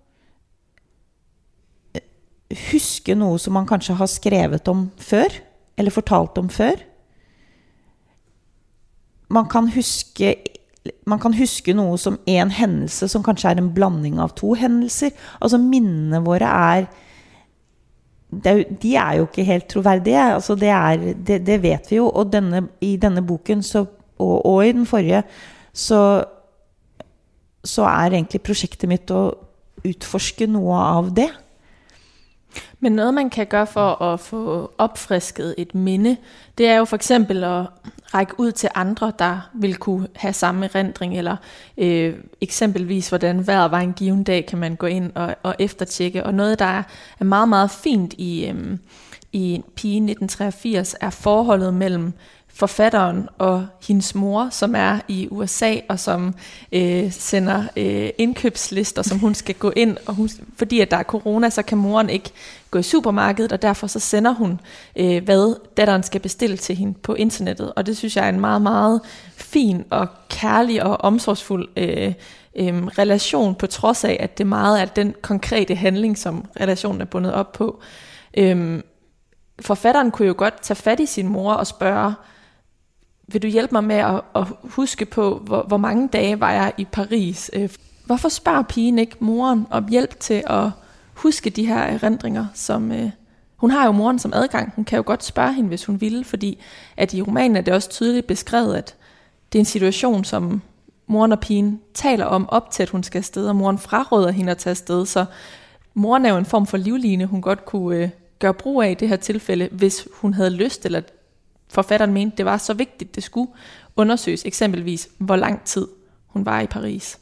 huske noe som man kanskje har skrevet om før, eller fortalt om før. Man kan huske noe som en hendelse som kanskje er en blanding av 2 hendelser. Altså minnene våre de er jo ikke helt troverdige. Altså det vet vi jo. Og i denne boken og i den forrige så er egentlig prosjektet mitt å utforske noe av det. Men noget man kan gøre for at få opfrisket et minde, det er jo for eksempel at række ud til andre, der vil kunne have samme erindring, eller eksempelvis hvordan vejret var en given dag, kan man gå ind og eftertjekke. Og noget, der er meget, meget fint i Pigen 1983, er forholdet mellem forfatteren og hendes mor, som er i USA, og som sender indkøbslister, som hun skal gå ind, og fordi at der er corona, så kan moren ikke gå i supermarkedet, og derfor så sender hun, hvad datteren skal bestille til hende på internettet. Og det synes jeg er en meget, meget fin og kærlig og omsorgsfuld relation, på trods af, at det meget er den konkrete handling, som relationen er bundet op på. Forfatteren kunne jo godt tage fat i sin mor og spørge, vil du hjælpe mig med at huske på, hvor mange dage var jeg i Paris? Hvorfor spørger pigen ikke moren om hjælp til at huske de her erindringer, som hun har jo moren som adgang. Hun kan jo godt spørge hende, hvis hun ville, fordi at i romanen er det også tydeligt beskrevet, at det er en situation, som moren og pigen taler om op til, at hun skal afsted, og moren fraråder hende at tage afsted, så moren er jo en form for livline, hun godt kunne gøre brug af i det her tilfælde, hvis hun havde lyst, eller forfatteren mente, det var så vigtigt, det skulle undersøges, eksempelvis hvor lang tid hun var i Paris.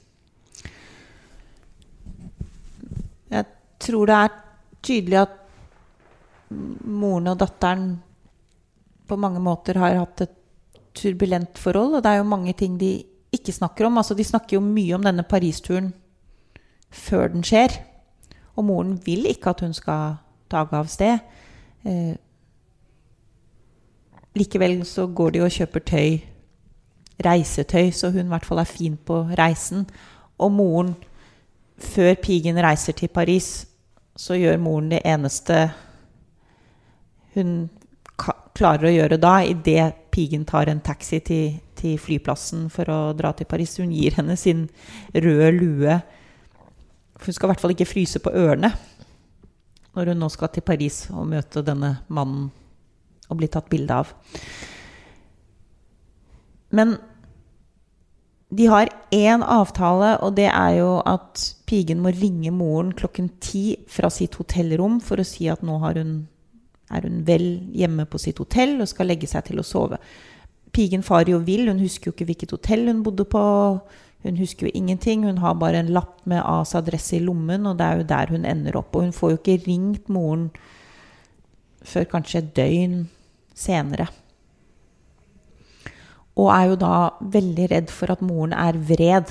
Jeg tror det tydelig at moren og datteren på mange måter har hatt et turbulent forhold, og det jo mange ting de ikke snakker om. Altså, de snakker jo mye om denne Paris-turen før den skjer, og moren vil ikke at hun skal tage av sted. Likevel så går de og kjøper reisetøy, så hun i hvert fall fin på reisen. Og moren, før pigen reiser til Paris, så gjør moren det eneste hun klarer å gjøre da, i det pigen tar en taxi til flyplassen for å dra til Paris. Hun gir henne sin røde lue. Hun skal i hvert fall ikke fryse på ørene når hun nå skal til Paris og møte denne mannen og bli tatt bilde av. Men de har en avtale, og det jo at pigen må ringe moren 10:00 fra sitt hotellrom for å si at nå hun vel hjemme på sitt hotell og skal legge seg til å sove. Pigen farer jo vill, hun husker jo ikke hvilket hotell hun bodde på, hun husker jo ingenting, hun har bare en lapp med A's adresse i lommen, og det jo der hun ender opp, og hun får jo ikke ringt moren før kanskje et døgn senere. Og jo da veldig redd for at moren vred.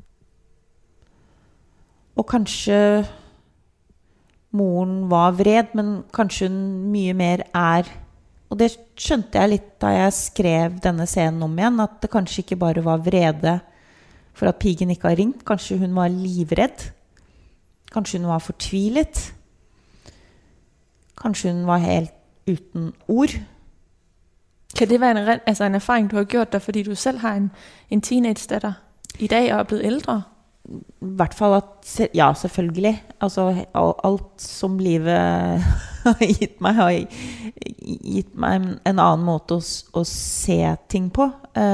Og kanskje moren var vred, men kanskje hun mye mer og det skjønte jeg litt da jeg skrev denne scenen om igjen, at det kanskje ikke bare var vrede for at pigen ikke har ringt, kanskje hun var livredd, kanskje hun var fortvilet, kanskje hun var helt uten ord. Kan det være en erfaring, du har gjort dig, fordi du selv har en teenage-datter i dag og blevet ældre? I hvert fall at, ja, selvfølgelig. Altså, alt som livet har gitt meg en annen måte å se ting på.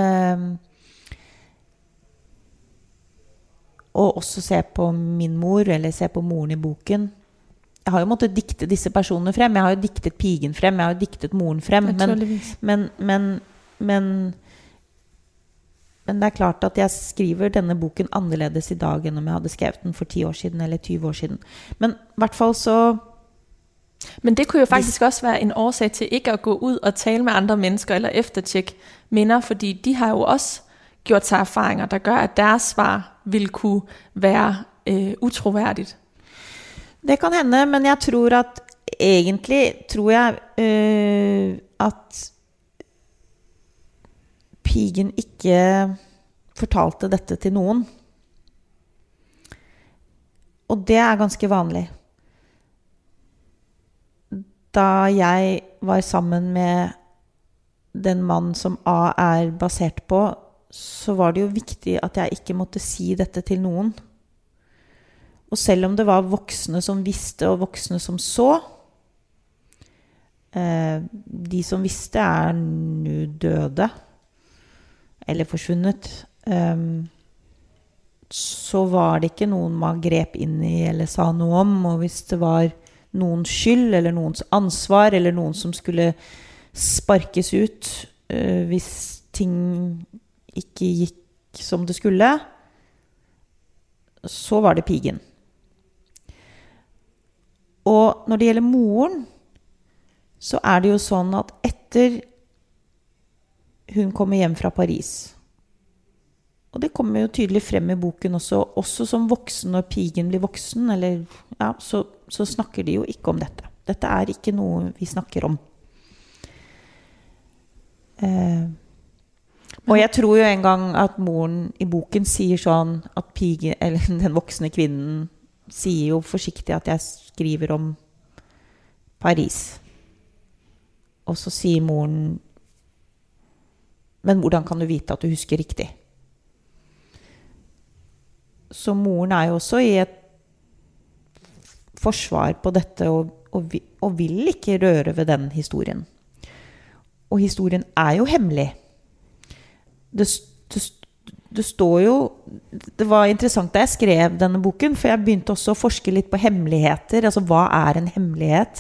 Og også se på min mor, eller se på moren i boken. Jeg har jo måttet dikte disse personene frem. Jeg har jo diktet pigen frem, jeg har jo diktet moren frem. Men det klart at jeg skriver denne boken annerledes i dag enn om jeg hadde skrevet den for 10 år siden eller 20 år siden. Men I hvert fall så... Men det kunne jo faktisk også være en årsag til ikke at gå ud og tale med andre mennesker eller eftertjekke minder, fordi de har jo også gjort sig erfaringer, der gør, at deres svar vil kunne være utroværdigt. Det kan hende, men jeg tror at egentlig at pigen ikke fortalte dette til noen. Og det ganske vanlig. Da jeg var sammen med den mann som A basert på, så var det jo viktig at jeg ikke måtte si dette til noen. Og selv om det var voksne som visste og voksne som så, de som visste nå døde, eller forsvunnet, så var det ikke noen man grep inn i eller sa noe om, og hvis det var noens skyld eller noens ansvar eller noen som skulle sparkes ut hvis ting ikke gikk som det skulle, så var det pigen. Og når det gjelder moren, så det jo sånn at etter hun kommer hjem fra Paris, og det kommer jo tydelig frem i boken også som voksen, når pigen blir voksen, eller, ja, så snakker de jo ikke om dette. Dette ikke noe vi snakker om. Og jeg tror jo en gang at moren i boken sier sånn at pigen, eller den voksne kvinnen, sier jo forsiktig at jeg skriver om Paris. Og så sier moren, men hvordan kan du vite at du husker riktig? Så moren jo også i et forsvar på dette og vil ikke røre ved den historien. Og historien jo hemmelig. Det står jo, det var interessant da jeg skrev denne boken, for jeg begynte også å forske litt på hemmeligheter, altså hva en hemmelighet?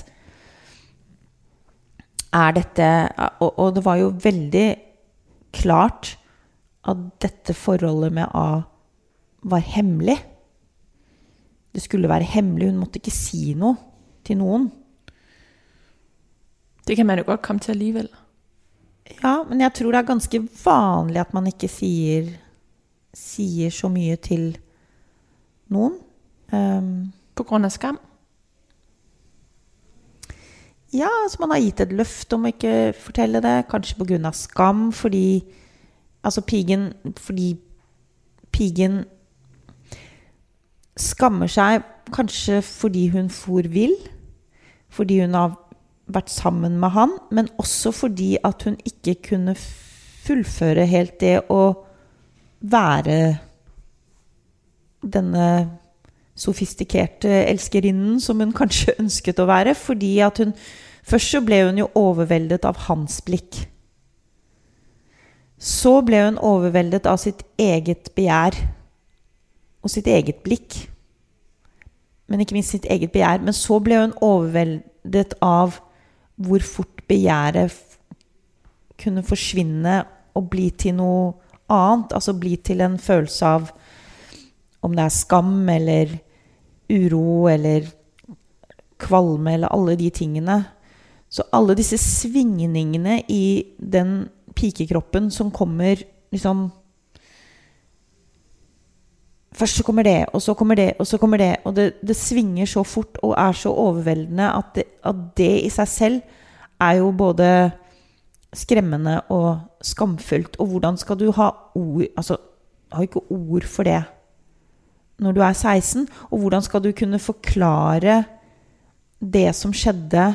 Dette, og det var jo veldig klart at dette forholdet med A var hemmelig. Det skulle være hemmelig, hun måtte ikke si noe til noen. Det kan man jo godt komme til alligevel. Ja, men jeg tror det ganske vanlig at man ikke sier så mye til noen. På grunn av skam? Ja, altså man har gitt et løfte om å ikke fortelle det, kanskje på grunn av skam, fordi pigen skammer seg kanskje fordi hun for vill, fordi hun har vært sammen med han, men også fordi at hun ikke kunne fullføre helt det å være denne sofistikerte elskerinnen som hun kanskje ønsket å være, fordi at først så ble hun jo overveldet av hans blikk. Så ble hun overveldet av sitt eget begjær og sitt eget blikk. Men ikke minst sitt eget begjær. Men så ble hun overveldet av hvor fort begjæret kunne forsvinne og bli til noe annet. Altså bli til en følelse av om det skam eller uro eller kvalme eller alle de tingene. Så alle disse svingningene i den pikekroppen som kommer liksom først så kommer det, og så kommer det, og så kommer det, og det svinger så fort og så overveldende at det i seg selv jo både skremmende og skamfullt. Og hvordan skal du ha ord, altså har ikke ord for det når du 16, og hvordan skal du kunne forklare det som skjedde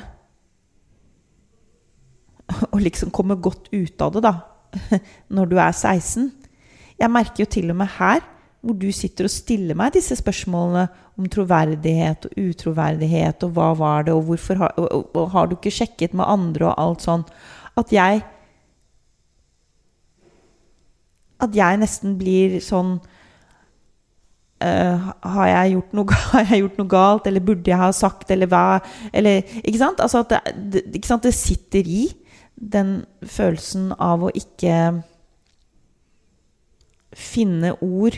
og liksom komme godt ut av det da, når du 16. Jeg merker jo til og med her, hvor du sitter og stiller meg disse spørsmålene om troverdighet og utroverdighet, og hva var det, og hvorfor og har du ikke sjekket med andre og alt sånn, at jeg nesten blir sånn, har jeg gjort noe galt, eller burde jeg ha sagt, eller hva, eller, ikke sant? Altså at ikke sant? Det sitter i den følelsen av å ikke finne ord,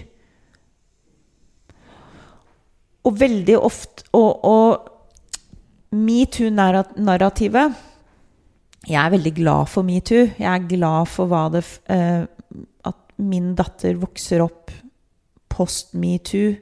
og veldig ofte og MeToo-narrativet, jeg veldig glad for MeToo, jeg glad for at min datter vokser opp post-MeToo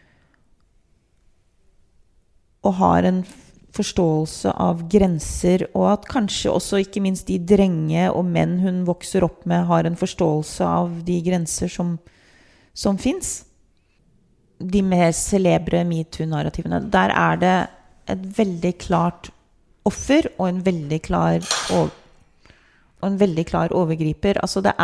og har en forståelse av grenser, og at kanskje også ikke minst de drenge og menn hun vokser opp med har en forståelse av de grenser som finnes. De mer celebre MeToo-narrativene, der det et veldig klart offer og en veldig klar overgriper. Altså det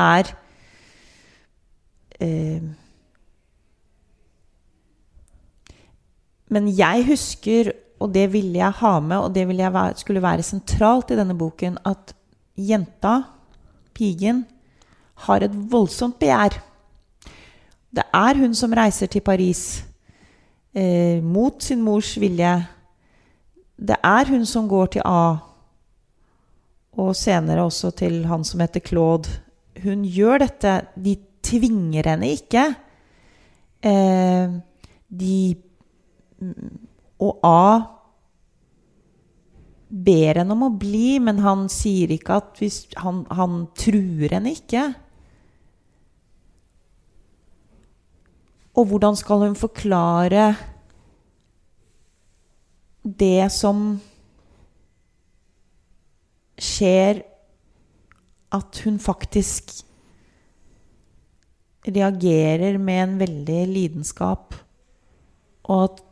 men jeg husker, og det ville jeg ha med, og det skulle være sentralt i denne boken, at jenta, pigen, har et voldsomt begjær. Det hun som reiser til Paris mot sin mors vilje. Det hun som går til A, og senere også til han som heter Claude. Hun gjør dette, de tvinger henne ikke. Og A ber henne om å bli, men han sier ikke at han truer henne ikke. Og hvordan skal hun forklare det som skjer, at hun faktisk reagerer med en veldig lidenskap, og at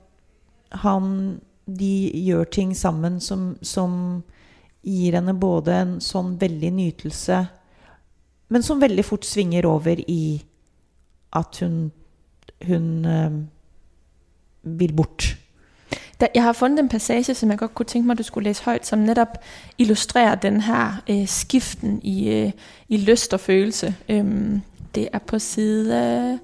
de gjør ting sammen som gir henne både en sånn veldig nytelse, men som veldig fort svinger over i at hun vil bort. Jeg har fundet en passage, som jeg godt kunne tænke mig, du skulle læse højt, som netop illustrerer den her skiften i lyst og følelse. Det på side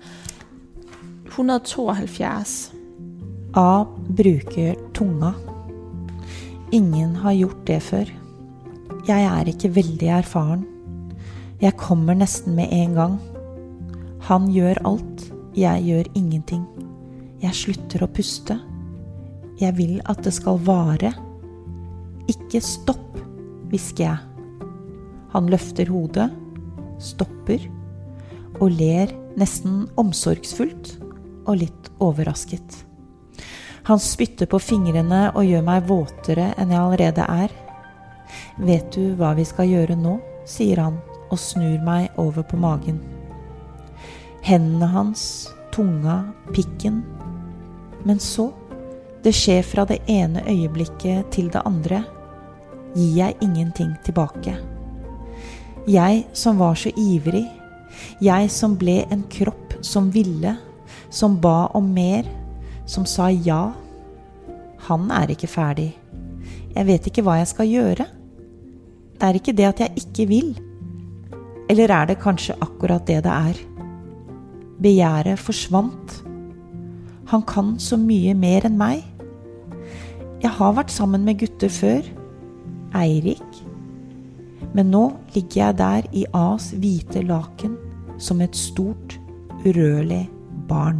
172. A bruker tunga. Ingen har gjort det før. Jeg ikke veldig erfaren. Jeg kommer nesten med en gang. Han gjør alt. Jeg gjør ingenting. Jeg slutter å puste. Jeg vil at det skal vare. Ikke stopp, hvisker jeg. Han løfter hodet, stopper, og ler nesten omsorgsfullt og litt overrasket. Han spytter på fingrene og gjør meg våtere enn jeg allerede Vet du hva vi skal gjøre nå, sier han og snur meg over på magen. Hendene hans, tunga, pikken. Men så, det skjer fra det ene øyeblikket til det andre, gir jeg ingenting tilbake. Jeg som var så ivrig, jeg som ble en kropp som ville, som ba om mer, som sa ja. Han ikke ferdig. Jeg vet ikke hva jeg skal gjøre. Det ikke det at jeg ikke vil. Eller det kanskje akkurat det Begjæret forsvant. Han kan så mye mer enn meg. Jeg har vært sammen med gutter før. Eirik. Men nå ligger jeg der i A's hvite laken som et stort, urørlig barn.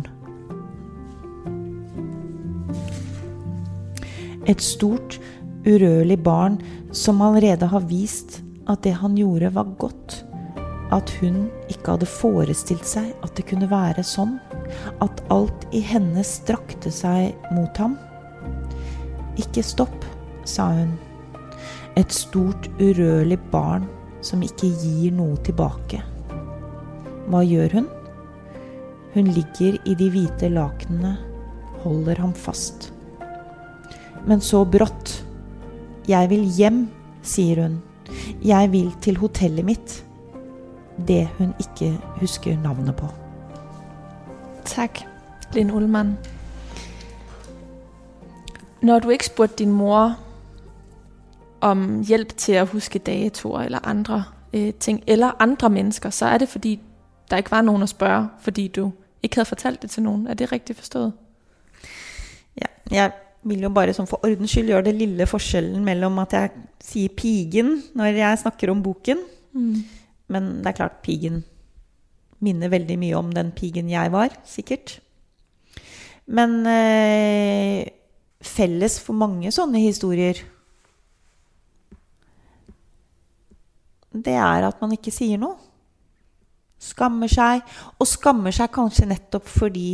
Et stort, urørlig barn som allerede har vist at det han gjorde var godt. At hun ikke hadde forestilt seg at det kunne være sånn. At alt i henne strakte seg mot ham. Ikke stopp, sa hun. Et stort, urørlig barn som ikke gir noe tilbake. Hva gjør hun? Hun ligger i de hvite lakenene, holder ham fast. Men så brått. Jeg vil hjem, sier hun. Jeg vil til hotellet mitt. Det hun ikke husker navnet på. Tak, Linn Ullmann. Når du ikke spurgte din mor om hjælp til at huske datoer eller andre ting, eller andre mennesker, så det fordi, der ikke var nogen at spørge, fordi du ikke havde fortalt det til nogen. Det rigtigt forstået? Ja, jeg vil jo bare som for ordens skyld gjøre det lille forskjellen mellom at jeg sier pigen når jeg snakker om boken. Men det klart, pigen minner veldig mye om den pigen jeg var, sikkert. Men felles for mange sånne historier, det at man ikke sier noe. Skammer seg, og skammer seg kanskje nettopp fordi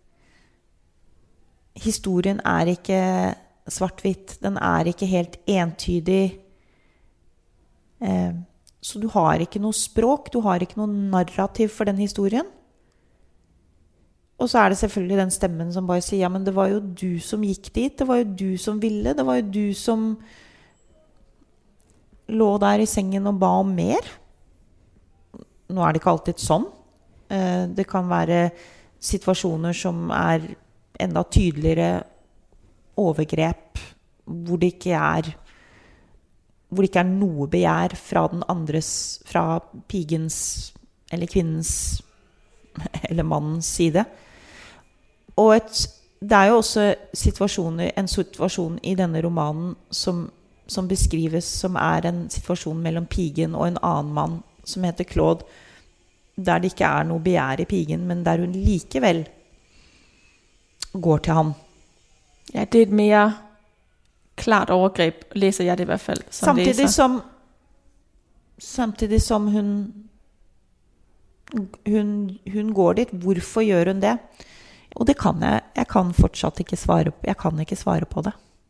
historien ikke svart-hvitt, den ikke helt entydig. Så du har ikke noe språk, du har ikke noe narrativ for den historien. Og så det selvfølgelig den stemmen som bare sier, ja, men det var jo du som gikk dit, det var jo du som ville, det var jo du som lå der i sengen og ba om mer. Nå det ikke alltid sånn. Det kan være situasjoner som enda tydeligere overgrep, hvor det ikke noe begjær fra den andres, fra pigens eller kvinnens eller mannens side. Og det jo også en situasjon i denne romanen som beskrives som en situasjon mellom pigen og en annen mann som heter Claude, der det ikke noe begjær i pigen, men der hun likevel går til ham. Ja, det et mere klart overgreb, læser jeg det i hvert fald som læser. Samtidig som hun går dit. Hvorfor gjør hun det? Og det kan jeg kan fortsatt ikke svare på. Jeg kan ikke svare på det.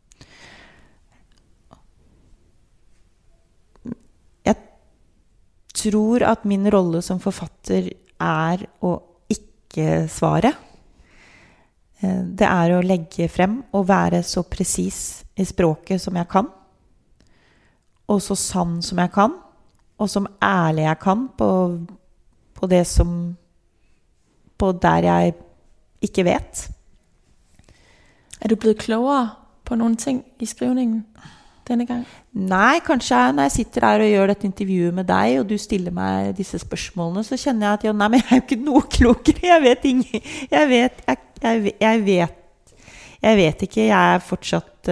Jeg tror at min rolle som forfatter å ikke svare. Det å legge frem og være så presis i språket som jeg kan, og så sann som jeg kan, og som ærlig jeg kan på det som på der jeg ikke vet. Du blevet klogere på nogle ting i skrivningen denne gang? Nei, kanskje når jeg sitter der og gjør dette intervjuet med deg, og du stiller meg disse spørsmålene, så kjenner jeg at nei, men jeg jo ikke noe klokere. Jeg vet ikke. Jeg fortsatt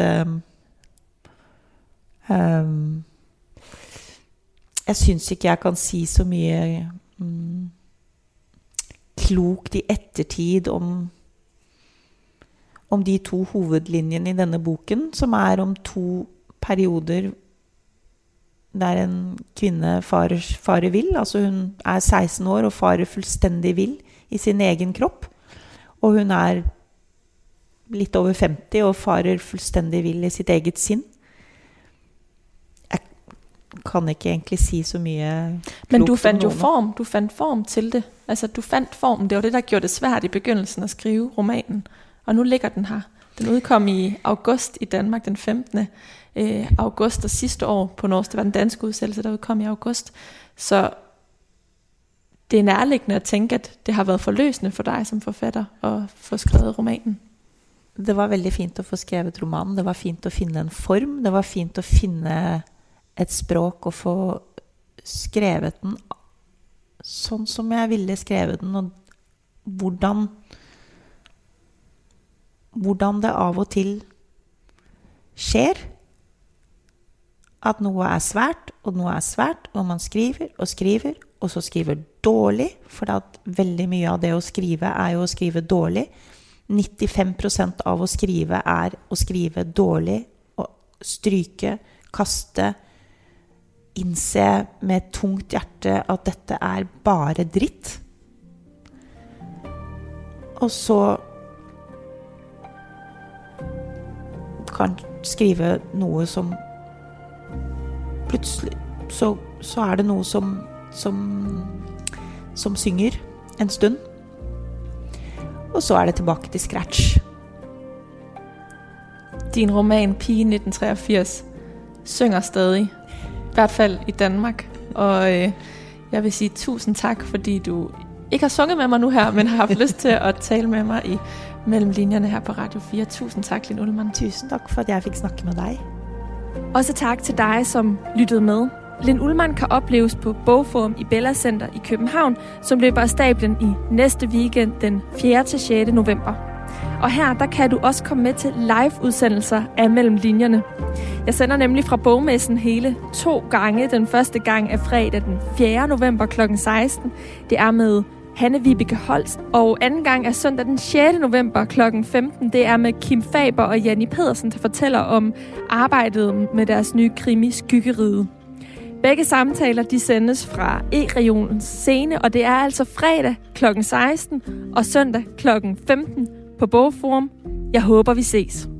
jeg synes ikke jeg kan si så mye klokt i ettertid om de to hovedlinjene i denne boken, som om to perioder der en kvinne farer vill. Altså hun 16 år og farer fullstendig vill i sin egen kropp, og hun litt over 50 og farer fullstendig vill i sitt eget sinn. Jeg kan ikke egentlig si så mye klokt. Men du fandt jo form. Du fandt form til det. Altså du fandt formen. Det var det, der gjorde det svært i begyndelsen at skrive romanen. Og nu ligger den her. Den udkom i august i Danmark, den 15. august, og sidste år på norsk. Det var den danske udsættelse, der udkom i august. Så det nærliggende at tænke, at det har været forløsende for dig som forfatter at få skrevet romanen. Det var veldig fint å få skrevet romanen. Det var fint å finne en form. Det var fint å finne et språk og få skrevet den sånn som jeg ville skrevet den, og hvordan det av og til skjer at noe er svært, og man skriver, og så skriver dårlig, for at veldig mye av det å skrive er jo å skrive dårlig. 95% av å skrive er å skrive dårlig, og stryke, kaste, innse med et tungt hjerte at dette er bare dritt. Og så kan skrive noe som plutselig så er det noe som synger en stund. Og så er det tilbake til scratch. Din roman Pige 1983 synger stadig, i hvert fald i Danmark. Og jeg vil sige tusind tak, fordi du ikke har sunget med mig nu her, men har haft lyst til at tale med mig i mellem linjerne her på Radio 4. Tusind tak, Linn Ullmann. Tusind tak for, at jeg fik snakke med dig. Også tak til dig, som lyttede med. Linn Ullmann kan opleves på Bogforum i Bella Center i København, som løber af stablen i næste weekend den 4. til 6. november. Og her, der kan du også komme med til live-udsendelser af Mellem Linjerne. Jeg sender nemlig fra Bogmessen hele 2 gange. Den første gang er fredag den 4. november kl. 16. Det er med Hanne-Vibeke Holst. Og anden gang er søndag den 6. november kl. 15. Det er med Kim Faber og Janni Pedersen, der fortæller om arbejdet med deres nye krimi Skyggeriget. Begge samtaler, de sendes fra E-regionens scene, og det er altså fredag kl. 16 og søndag kl. 15 på Bogforum. Jeg håber, vi ses.